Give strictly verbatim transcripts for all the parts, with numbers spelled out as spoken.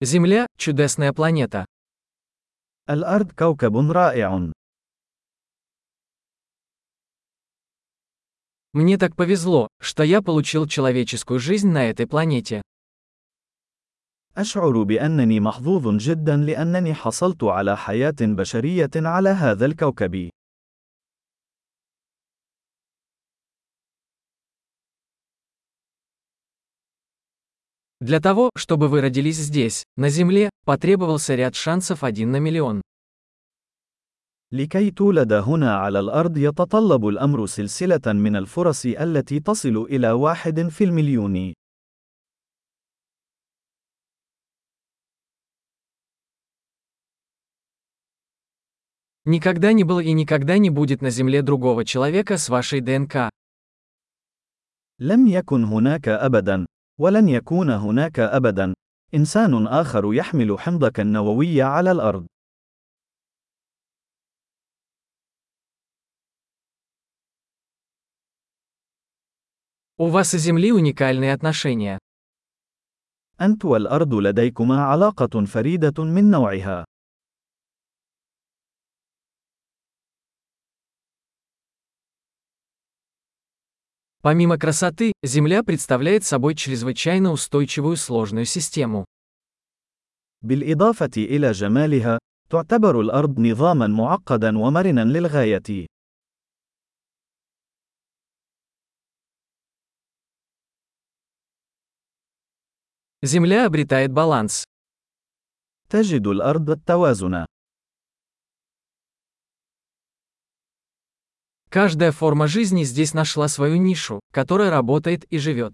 Земля– чудесная планета. الأرض كوكب رائع. Мне так повезло, что я получил человеческую жизнь на этой планете. أشعر بأنني محظوظ جدا لأنني حصلت على حياة بشرية على هذا الكوكب. Для того, чтобы вы родились здесь, на Земле, потребовался ряд шансов один на миллион. لكي تولد هنا على الأرض يتطلب الأمر سلسلة من الفرص التي تصل إلى واحد في المليون. Никогда не было и никогда не будет на Земле другого человека с вашей ДНК. لم يكن هناك أبدا، ولن يكون هناك أبدا، إنسان آخر يحمل حمضك النووي على الأرض. У вас и Земли уникальные отношения. أنت والأرض لديكما علاقة فريدة من نوعها. Помимо красоты, Земля представляет собой чрезвычайно устойчивую сложную систему. بالإضافة إلى جمالها، تعتبر الأرض نظاماً معقداً ومرناً للغاية. Земля обретает баланс. تجد الأرض التوازن. Каждая форма жизни здесь нашла свою нишу, которая работает и живет.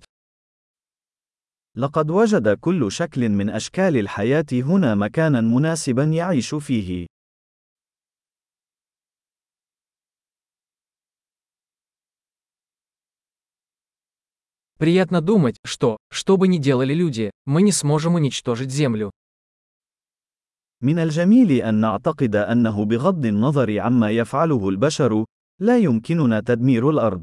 لقد وجد كل شكل من أشكال الحياة هنا مكاناً مناسباً يعيش فيه. Приятно думать, что, что бы ни делали люди, мы не сможем уничтожить Землю. من الجميل أن نعتقد أنه بغض النظر عما يفعله البشر، لا يمكننا تدمير الأرض.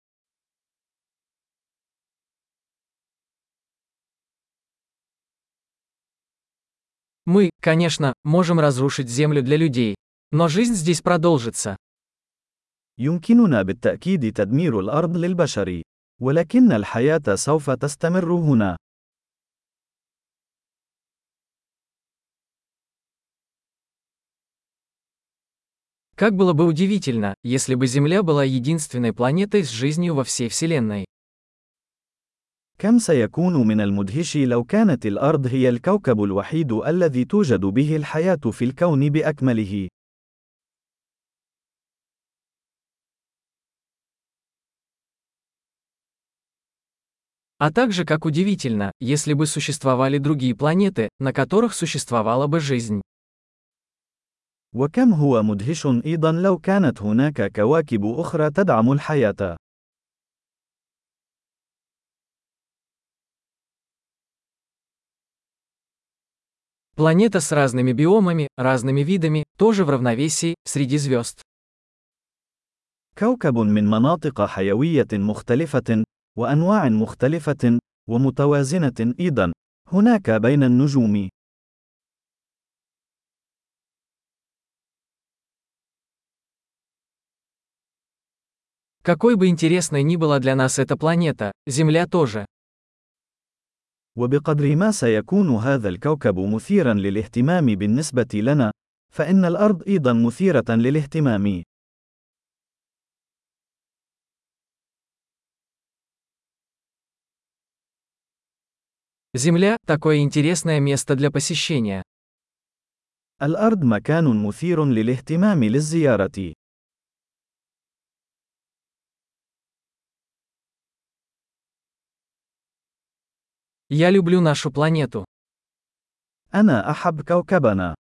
Мы, конечно, можем разрушить Землю для людей, но жизнь здесь продолжится. يمكننا بالتأكيد تدمير الأرض للبشر، ولكن الحياة سوف تستمر هنا. Как было бы удивительно, если бы Земля была единственной планетой с жизнью во всей Вселенной. كم سيكون من المدهش لو كانت الأرض هي الكوكب الوحيد الذي توجد به الحياة في الكون بأكمله. А также как удивительно, если бы существовали другие планеты, на которых существовала бы жизнь. وكم هو مدهش أيضا لو كانت هناك كواكب أخرى تدعم الحياة. Планета с разными биомами, разными видами, тоже в равновесии, среди звезд. كوكب من مناطق حيوية مختلفة، وأنواع مختلفة، ومتوازنة أيضا، هناك بين النجوم. Какой бы интересной ни была для нас эта планета, Земля тоже. وبقدر ما سيكون هذا الكوكب مثيرا للاهتمام بالنسبة لنا، فإن الأرض أيضا مثيرة للاهتمام. Земля– такое интересное место для посещения. الأرض مكان مثير للاهتمام للزيارة. Я люблю нашу планету. أنا أحب كوكبنا.